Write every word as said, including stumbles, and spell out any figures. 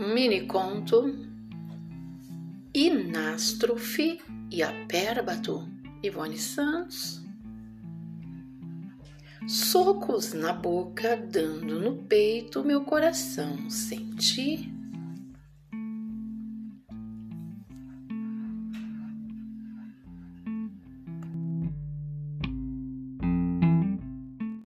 Mini conto Inástrofe e Apérbato, Ivone Santos. Socos na boca, dando no peito, meu coração senti.